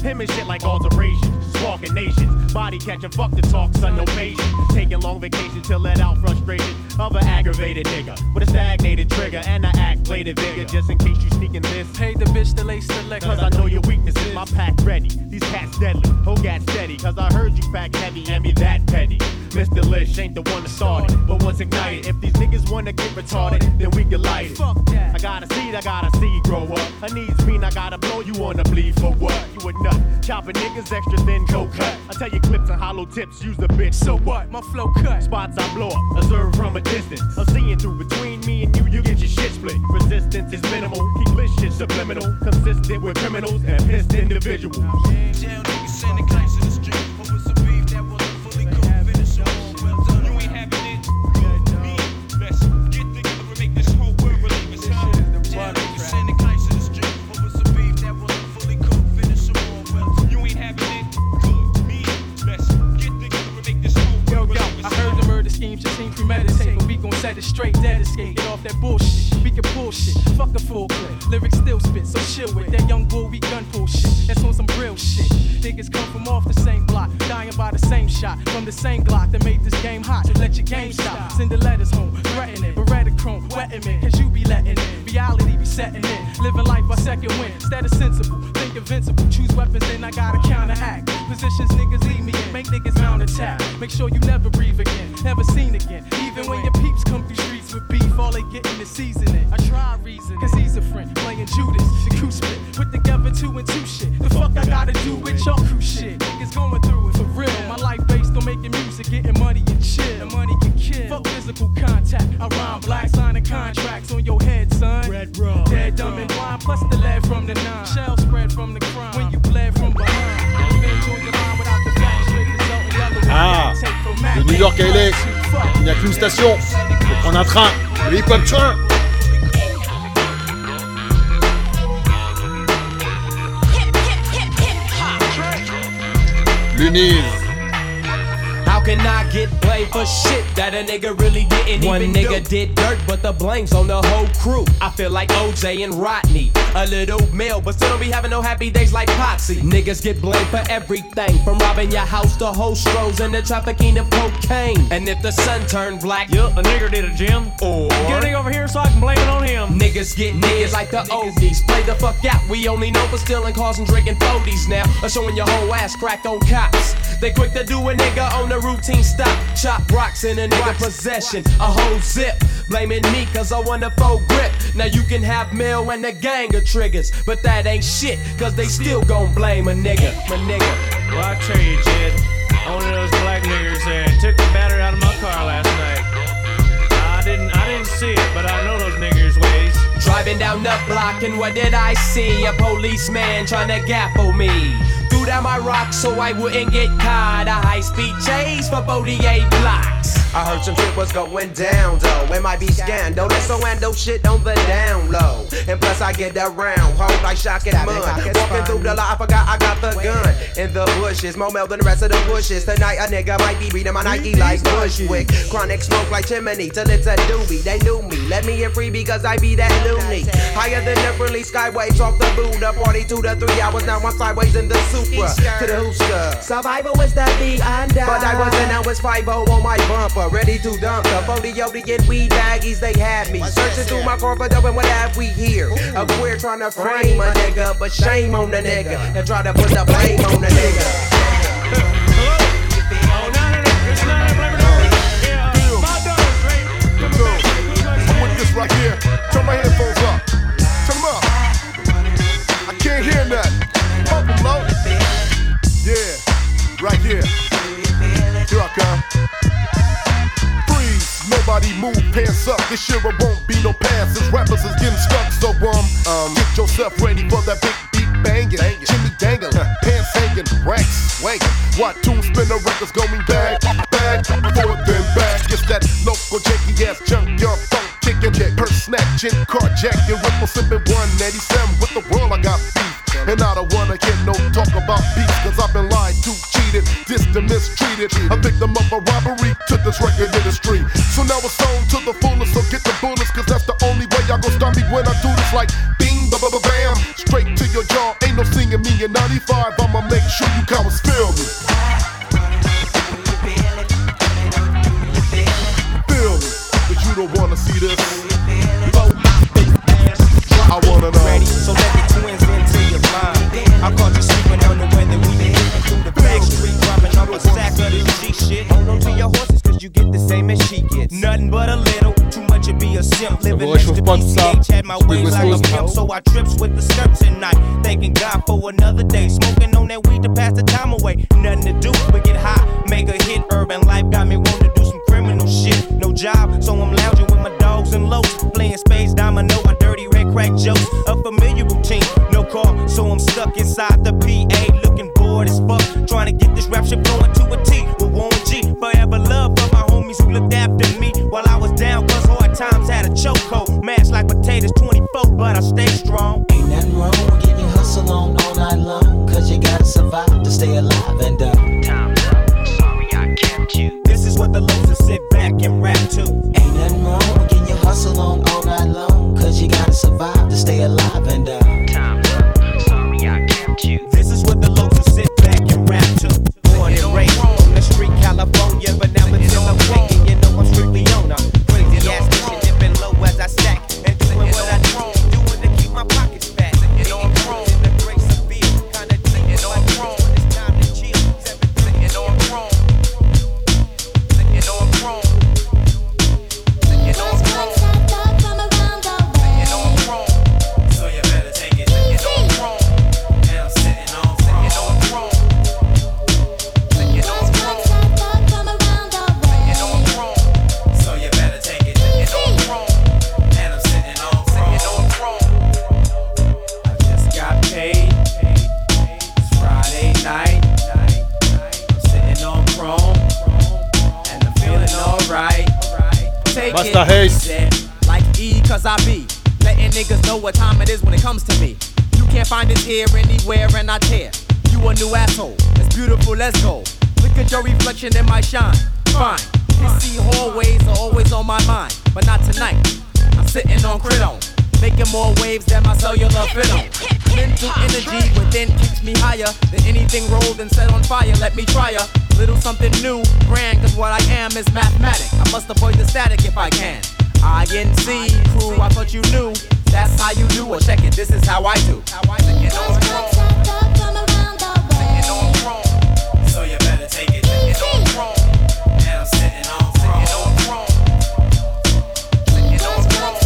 Him and shit like alterations, sparking nations. Body catching, fuck the talk, son, no patience. Taking long vacations to let out frustration of an aggravated nigga with a stagnated trigger, and I act bladed vigor just in case you sneaking this. Hey, the bitch that lace select, cause I know your weaknesses. My pack ready, these cats deadly, whole gat steady, cause I heard you pack heavy and me that petty. Mister Lish ain't the one to start it, but once ignited, if these niggas wanna get retarded, then we can light it. Fuck that. I gotta see, I gotta see grow up. Her needs mean I gotta blow you on the bleed for what? You a nut, chopping niggas extra thin, go cut. I tell you clips and hollow tips, use the bitch, so what? My flow cut. Spots I blow up, observe from a distance. I'm seeing through between me and you, you get your shit split. Resistance is minimal, keep this shit subliminal. Consistent with criminals and pissed individuals. Jail niggas sending kites in the street over some beef that wasn't fully cooked. Finish all well done. You ain't having it. Good. Me. Let's get together and make this whole world believe it's home. Jail niggas sending kites in the street over some beef that wasn't fully cooked. Finish all well done. You ain't having it. Good. Me. Let's get together and make this whole world believe it's home. I heard the murder schemes just seem premeditated, but we gon' set it straight, dead escape. Get off that bullshit. We can pull shit. Fuck a full clip. Lyrics still spit, so chill with that young bull. We gun pull shit. That's on some real shit. Niggas come from off the same block, dying by the same shot from the same Glock that made this game hot. So let your game stop. Send the letters home, threatening, Beretta chrome, wetting me, cause you be letting in. Reality be setting in. Living life by second wind. Instead of sensible, think invincible. Choose weapons, then I gotta counteract. Positions niggas leave me in, make niggas mount attack. Make sure you never breathe again, never seen again. Even when your peeps come through streets with beef, all they getting is seasoning. I try reason, cause he's a friend, playing Judas, the crew split. Put together two and two shit. The fuck I gotta do with your crew shit? Niggas going through it for real. My life based on making music, getting money and chill. The money can kill. Fuck physical contact. I rhyme black, signing contracts on your head, son. Red rum. Dead, dumb, and blind, plus the lead from the nine. Shell spread from the crime. When you bled from behind. Revenge on your line without the facts. Straight result in yellow. Ah, de New York à L A, il n'y a qu'une station. Faut prendre un train. Le hip-hop train. Luniz. How can I get blamed for shit that a nigga really didn't One even nigga do? Did dirt, but the blame's on the whole crew. I feel like O J and Rodney, a little male, but still don't be having no happy days like Potsy. Niggas get blamed for everything, from robbing your house to hostros and the trafficking of cocaine. And if the sun turned black, yup, a nigger did it, Jim. Or get a nigga over here so I can blame it on him. Niggas get niggas like the oldies. Play the fuck out. We only know for stealing cars and drinking forties now, or showing your whole ass crack on cops. They quick to do a nigga on the routine stop. Chop rocks in a nigga possession, a whole zip. Blaming me cause I want a full grip. Now you can have mail and a gang of triggers, but that ain't shit cause they still gon' blame a nigga, my nigga. Well, I tell you, Jed, one of those black niggers there took the battery out of my car last night. I didn't, I didn't see it, but I know those niggers' ways. Driving down the block and what did I see? A policeman trying to gaffle me. Threw down my rock so I wouldn't get caught. A high-speed chase for forty-eight blocks. I heard some shit was going down though. It might be scandalous, so and no shit on the down low. And plus I get around, hold like shock and mud. Walking through the lot, I forgot I got the gun in the bushes. More male than the rest of the bushes. Tonight a nigga might be reading my Nike like Bushwick. Chronic smoke like chimney till it's a doobie. They knew me, let me in free because I be that loony. Higher than the friendly skywaves off the Buddha. Party two to three hours, now I'm sideways in the Supra. To the Hooska. Survival was that beat under. But I wasn't, now it's five oh on my bumper. Ready to dump the forty and weed baggies, they had me. Searching through my car for dope and what have we here? A queer trying to frame a nigga, but shame on the nigga that try to put the blame on the nigga. I'm with this right here. Turn my headphones up. Turn them up. I can't hear nothing. Pump them low. Yeah, right here. Here I come. Nobody move, pants up. This year it won't be no passes. Rappers is getting stuck, so um, um get yourself ready for that big beat banging, Jimmy dangling, pants hanging, racks swinging. What tune spinner records going back, back, forth and back. It's that local janky ass junkyard funk kicking, purse snatching, carjacking, ripple sipping one eighty-seven. With the world I got beef, and I don't wanna get no talk about peace, cause I've been lied to, cheated, dissed and mistreated. A victim of a robbery to this record industry. So now it's on to the fullest, so get the bullets, cause that's the only way y'all gon' stop me when I do this. Like bing, ba ba ba bam, straight to your jaw. Ain't no singing me in ninety-five, I'ma make sure you cowards feel me. Feel me, but you don't wanna see this. I wanna know. Ready, so let the twins into your mind. I caught you sleeping on the weather. We been moving through the back street, dropping off a sack of this G shit. Hold on to your horses, cause you get the same as she gets. Nothing but a little, too much would be a simp. Living next to B C H, had my ways like a pimp, so I trips with the skirts at night. Thanking God for another day, smoking on that weed to pass the time away. Nothing to do but get high, make a hit. Urban life got me wanting to do some criminal shit. No job, so I'm lounging with my dogs and lows, playing spades, domino, my dirty red crack jokes. A familiar routine, no car, so I'm stuck inside the P A, looking bored as fuck, trying to get this rap shit flowing to a T. With Warren G, forever love for my homies who looked after me while I was down, cause hard times had a chokehold. Mashed like potatoes twenty-four, but I stay strong. Ain't nothing wrong with getting your hustle on all night long, cause you gotta survive to stay alive and uh time's up, sorry I kept you. This is what the losers sit back and rap to. Ain't nothing wrong with getting your hustle on all night long, cause you gotta survive to stay alive and uh time's up, sorry I kept you. This is what the losers sit back and rap to. Born and raised on the street, California, but now it's in okay, and you know I'm strictly on a crazy ass mission, dipping low as I stack and doing what I need, doing to keep my pockets fat. You know I'm prone in the grace of beer, kinda thing. You know I'm prone when it's time to chill. You know I'm prone. You know I'm prone. You know I'm prone. You know I'm prone. So you better take it. You know I'm prone. And I'm sitting on throne. You know I'm prone. You know I'm prone. You know I'm prone. So you better take it. You know I'm prone. And I'm sitting on throne. You know I'm prone. I just got paid. It's Friday night. I'm sitting on chrome. And I'm feeling alright. Take Master it. Haze. Said, like E, cause I be letting niggas know what time it is when it comes to me. You can't find it here, anywhere, and I tear. You a new asshole. It's beautiful, let's go. Look at your reflection in my shine. Fine. You see hallways are always on my mind, but not tonight. I'm sitting on Cridon, making more waves than my cellular fit on. Mental energy within keeps me higher than anything rolled and set on fire. Let me try a little something new, grand, cause what I am is mathematic. I must avoid the static if I can. I N C crew, I thought you knew. That's how you do, well check it, this is how I do. You know I'm wrong. You know I'm wrong. So you better take it. You know I'm wrong. And I'm sitting on throne. You know I'm wrong. You know I'm wrong.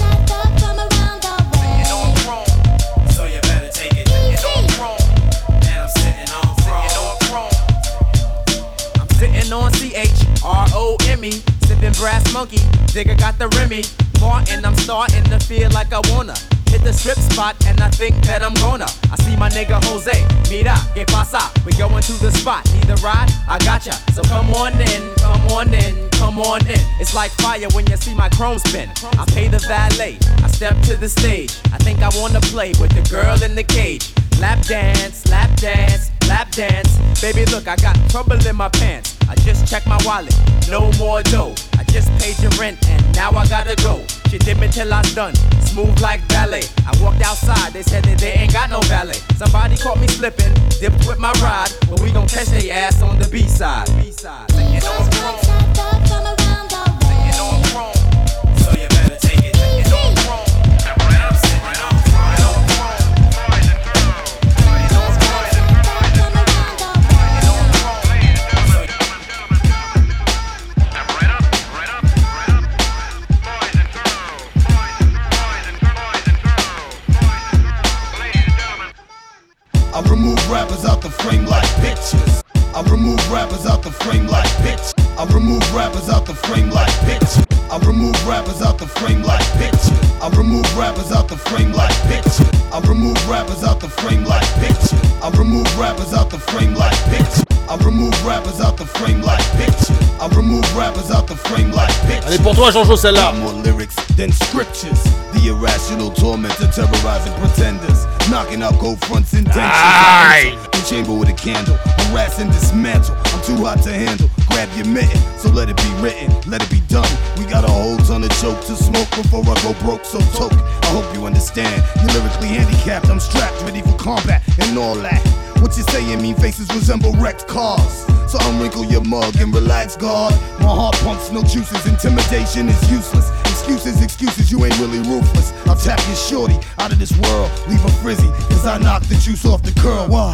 You know I'm wrong. So you better take it. You know I'm wrong. And I'm sitting on throne. You know I'm wrong. I'm sitting on C H R O M E, sipping brass monkey. Digger got the Remy. Martin, I'm starting to feel like I wanna hit the strip spot, and I think that I'm gonna. I see my nigga Jose, mira, que pasa? We going to the spot, need a ride? I gotcha. So come on in, come on in, come on in. It's like fire when you see my chrome spin. I pay the valet, I step to the stage. I think I wanna play with the girl in the cage. Lap dance, lap dance, lap dance. Baby, look, I got trouble in my pants. I just checked my wallet, no more dough. I just paid your rent and now I gotta go. She did me till I'm done, smooth like ballet. I walked outside, they said that they ain't got no valet. Somebody caught me slipping, dipped with my ride, but we gon' catch they ass on the B-side. B-side. You know I'm wrong. You know I'm wrong. So you better take it. You know I'm wrong. I'm sitting right on. I remove rappers out the frame like pictures. I remove rappers out the frame like pictures. I remove rappers out the frame like pictures. I remove rappers out the frame like pictures. I remove rappers out the frame like pictures. I remove rappers out the frame like pictures. I remove rappers out the frame like pictures. I remove rappers out the frame like pictures. I remove rappers out the frame like pictures. Allez pour toi Jean-Jo celle-là. More lyrics than scriptures. The irrational tormentor terrorizing pretenders. Knocking out gold fronts and dentures. The chamber with a candle. Harass and dismantle. I'm too hot to handle. grab your mitten. So let it be written, let it be done. We got a whole ton of joke to smoke before I go broke. So toke, I hope you understand. You're lyrically handicapped, I'm strapped, ready for combat and all that. What you saying, mean faces resemble wrecked cars. So unwrinkle your mug and relax, God. My heart pumps, no juices, intimidation is useless. Excuses, excuses, you ain't really ruthless. I'll tap your shorty out of this world, leave her frizzy, cause I knock the juice off the curl. Why?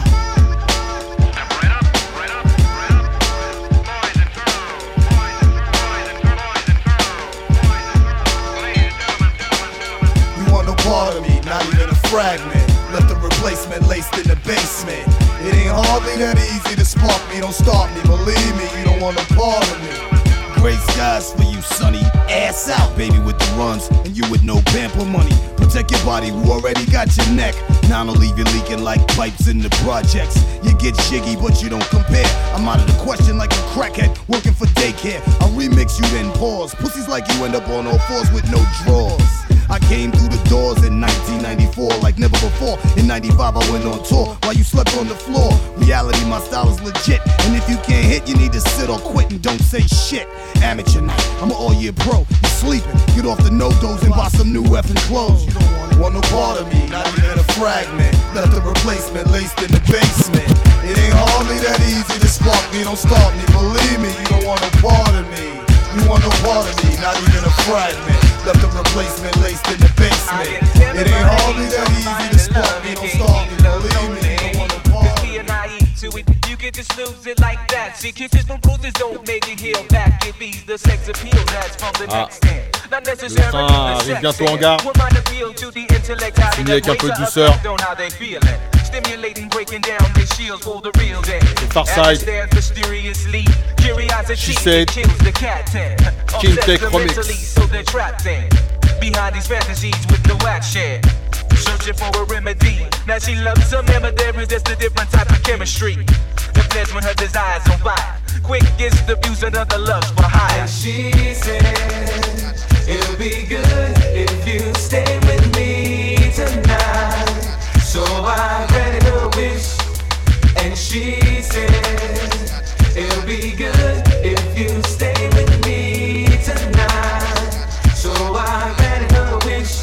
You want no part of me, not even a fragment. Left the replacement laced in the basement. It ain't hardly that easy to spark me, don't start me. Believe me, you don't want no part of me. Gray skies for you, sonny. Ass out, baby, with the runs, and you with no pamper money. Protect your body, who already got your neck. Now don't leave you leaking like pipes in the projects. You get jiggy, but you don't compare. I'm out of the question like a crackhead working for daycare. I remix you, then pause. Pussies like you end up on all fours with no drawers. I came through the doors in nineteen ninety-four like never before. In ninety-five I went on tour while you slept on the floor. Reality, my style is legit, and if you can't hit, you need to sit or quit and don't say shit. Amateur night, I'm an all-year pro. You sleeping, get off the no-dos and buy some new effing clothes. You don't want no part of me, not even a fragment. Left the replacement laced in the basement. It ain't hardly that easy to spark me, don't start me. Believe me, you don't want no part of me. You want no part of me, not even a fragment. Left the replacement laced in the basement. It ain't hardly that easy to spark me, don't start me. Believe me, you don't want no part of me. To it, you can just lose it like that. See, kisses from bruises don't make it heal back. It be the sex appeal that's from the Ah. next stand. Not necessarily Le train the arrive sex bientôt en stand. gare. What might appeal to the intellect, how Fini they avec un peu de ways are douceur. affect on how they feeling. Stimulating, breaking down the shields for the real dead. Farside. Mysteriously, curiosity She said, kills the cat then. King Obsessed Tech Remix. mentally, so they're trapped in behind these fantasies with no action. Searching for a remedy. Now she loves some emma, there is just a different type of chemistry. The flesh when her desires on fire. Quick gets the views and other loves for hire. And she said, it'll be good if you stay with me tonight. So I granted her wish. And she said, it'll be good if you stay with me tonight. So I granted her wish.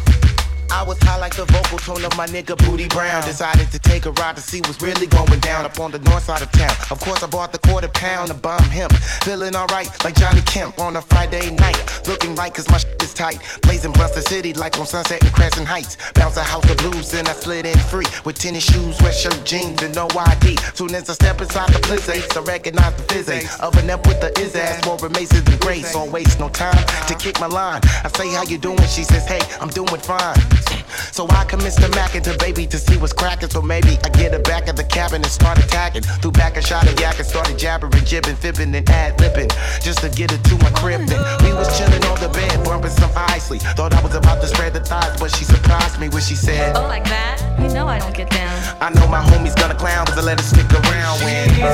I was high like the vocal tone of my nigga Booty Brown. Decided to take a ride to see what's really going down up on the north side of town. Of course, I bought the quarter pound of bomb hemp. Feeling alright like Johnny Kemp on a Friday night. Looking right cause my shit is tight. Blazing Buster City like on Sunset and Crescent Heights. Bounce a house of blues, then I slid in free. With tennis shoes, sweatshirt, jeans, and no I D. Soon as I step inside the place, I recognize the fizzy. Oven up with the is ass, more maces than grace. Don't waste no time to kick my line. I say, how you doing? She says, hey, I'm doing fine. So I commence to mack into baby to see what's cracking. So maybe I get her back of the cabin and start attacking. Threw back a shot of yak and started jabbering, jibbing, fibbing, and ad-libbing. Just to get her to my crib. Then we was chilling on the bed, bumping some isley. Thought I was about to spread the thighs, but she surprised me when she said, oh, like that? You know I don't get down. I know my homie's gonna clown, cause I let her stick around when She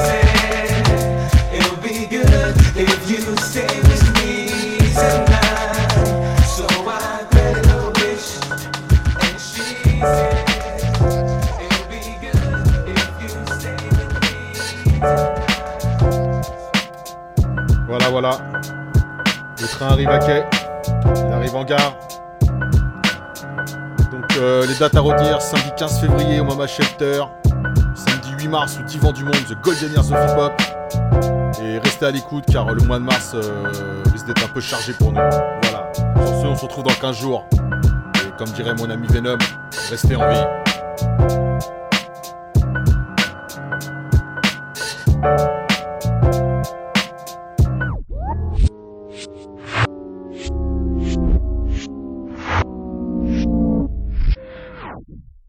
said, it'll be good if you stay with me tonight. So I granted her wish. And she said, it'll be good if you stay with me. Voilà, voilà. Le train arrive à quai. Il arrive en gare. Donc euh, les dates à retenir, samedi quinze février au Mama Shelter. Samedi huit mars au Divan du Monde, The Golden Years of Hip Hop. Et restez à l'écoute car le mois de mars euh, risque d'être un peu chargé pour nous. Voilà. Sur ce, on se retrouve dans quinze jours. Et comme dirait mon ami Venom, restez en vie.